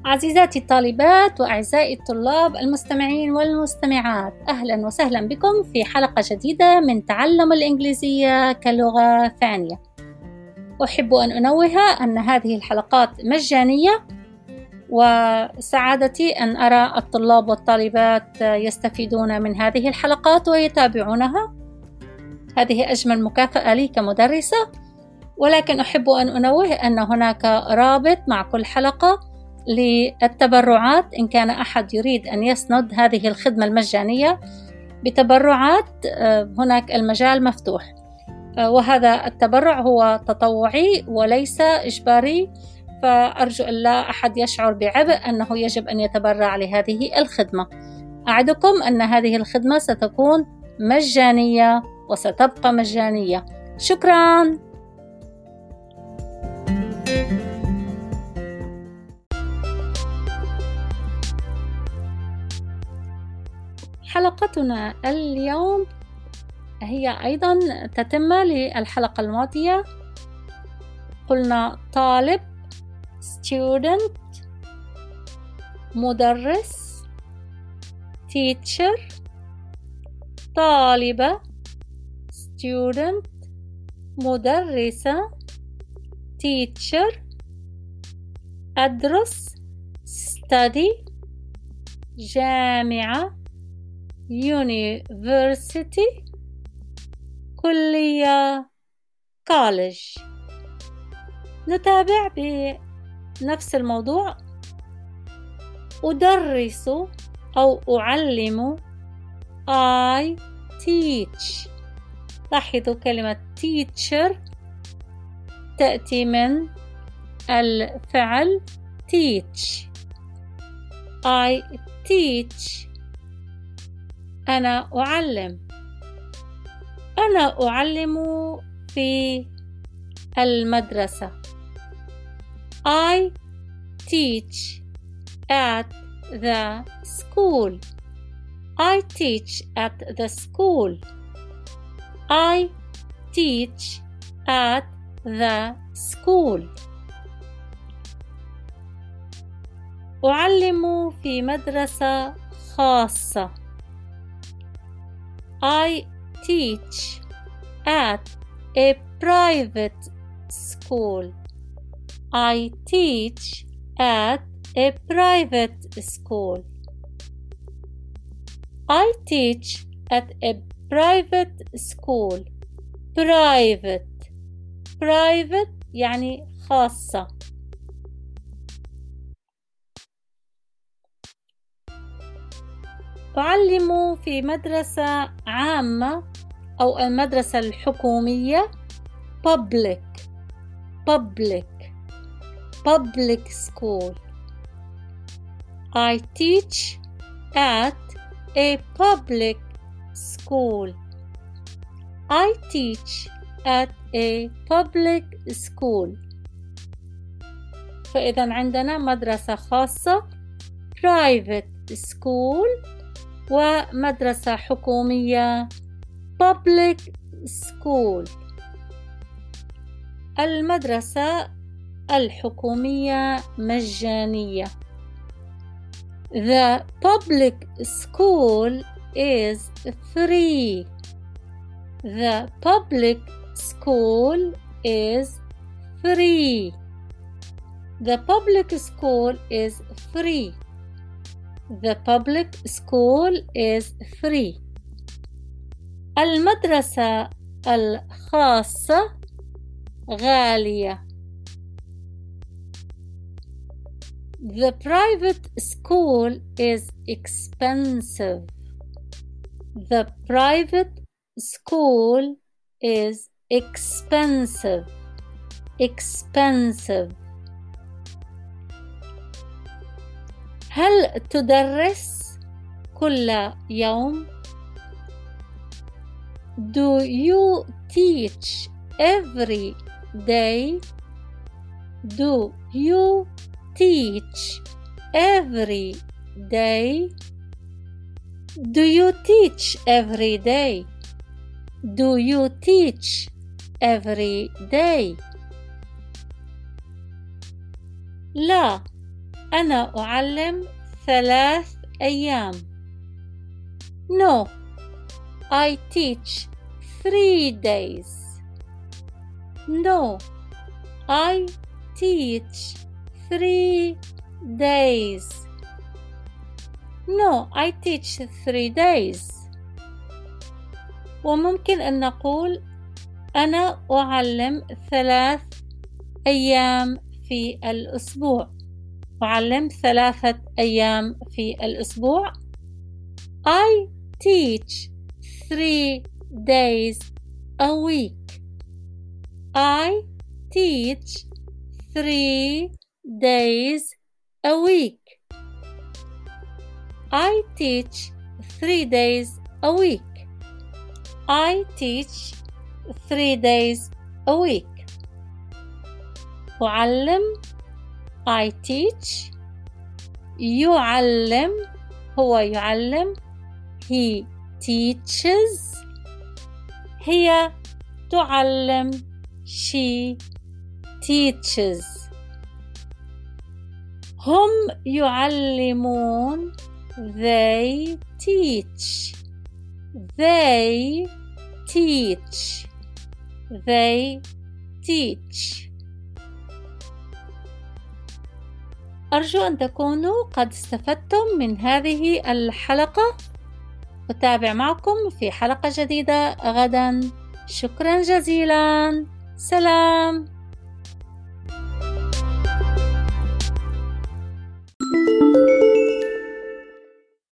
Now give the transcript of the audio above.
عزيزاتي الطالبات وأعزائي الطلاب المستمعين والمستمعات، أهلا وسهلا بكم في حلقة جديدة من تعلم الإنجليزية كلغة ثانية. أحب أن أنوه أن هذه الحلقات مجانية، وسعادتي أن أرى الطلاب والطالبات يستفيدون من هذه الحلقات ويتابعونها. هذه أجمل مكافأة لي كمدرسة، ولكن أحب أن أنوه أن هناك رابط مع كل حلقة للتبرعات. إن كان أحد يريد أن يسند هذه الخدمة المجانية بتبرعات، هناك المجال مفتوح، وهذا التبرع هو تطوعي وليس إجباري، فأرجو أن لا أحد يشعر بعبء أنه يجب أن يتبرع لهذه الخدمة. أعدكم أن هذه الخدمة ستكون مجانية وستبقى مجانية. شكراً. حلقتنا اليوم هي أيضا تتمة للحلقة الماضية. قلنا طالب student، مدرس teacher، طالبة student، مدرسة teacher، أدرس study، جامعة university، كلية college. نتابع بنفس الموضوع. أدرس أو أعلم I teach. لاحظوا كلمة teacher تأتي من الفعل teach. I teach، أنا أعلم. أنا أعلم في المدرسة. I teach at the school. I teach at the school. I teach at the school. أعلم في مدرسة خاصة. I teach at a private school. I teach at a private school. I teach at a private school. Private يعني خاصة. أعلم في مدرسة عامة أو المدرسة الحكومية public school. I teach at a public school. I teach at a public school. فإذا عندنا مدرسة خاصة private school، ومدرسة حكومية public school. المدرسة الحكومية مجانية. The public school is free. The public school is free. The public school is free. The public school is free. المدرسة الخاصة غالية. The private school is expensive. The private school is expensive. هل تدرس كل يوم؟ Do you teach every day? Do you teach every day? Do you teach every day? Do you teach every day? لا، أنا أعلم 3 أيام. No, I teach 3 days. No, I teach 3 days. No, I teach 3 days. وممكن أن نقول أنا أعلم 3 أيام في الأسبوع. أعلم 3 أيام في الأسبوع. I teach 3 days a week. I teach 3 days a week. I teach 3 days a week. I teach 3 days a week. أعلم I teach. يعلم هو يعلم he teaches. هي تعلم she teaches. هم يعلمون they teach. They teach. They teach. أرجو أن تكونوا قد استفدتم من هذه الحلقة. أتابع معكم في حلقة جديدة غدا. شكرا جزيلا. سلام.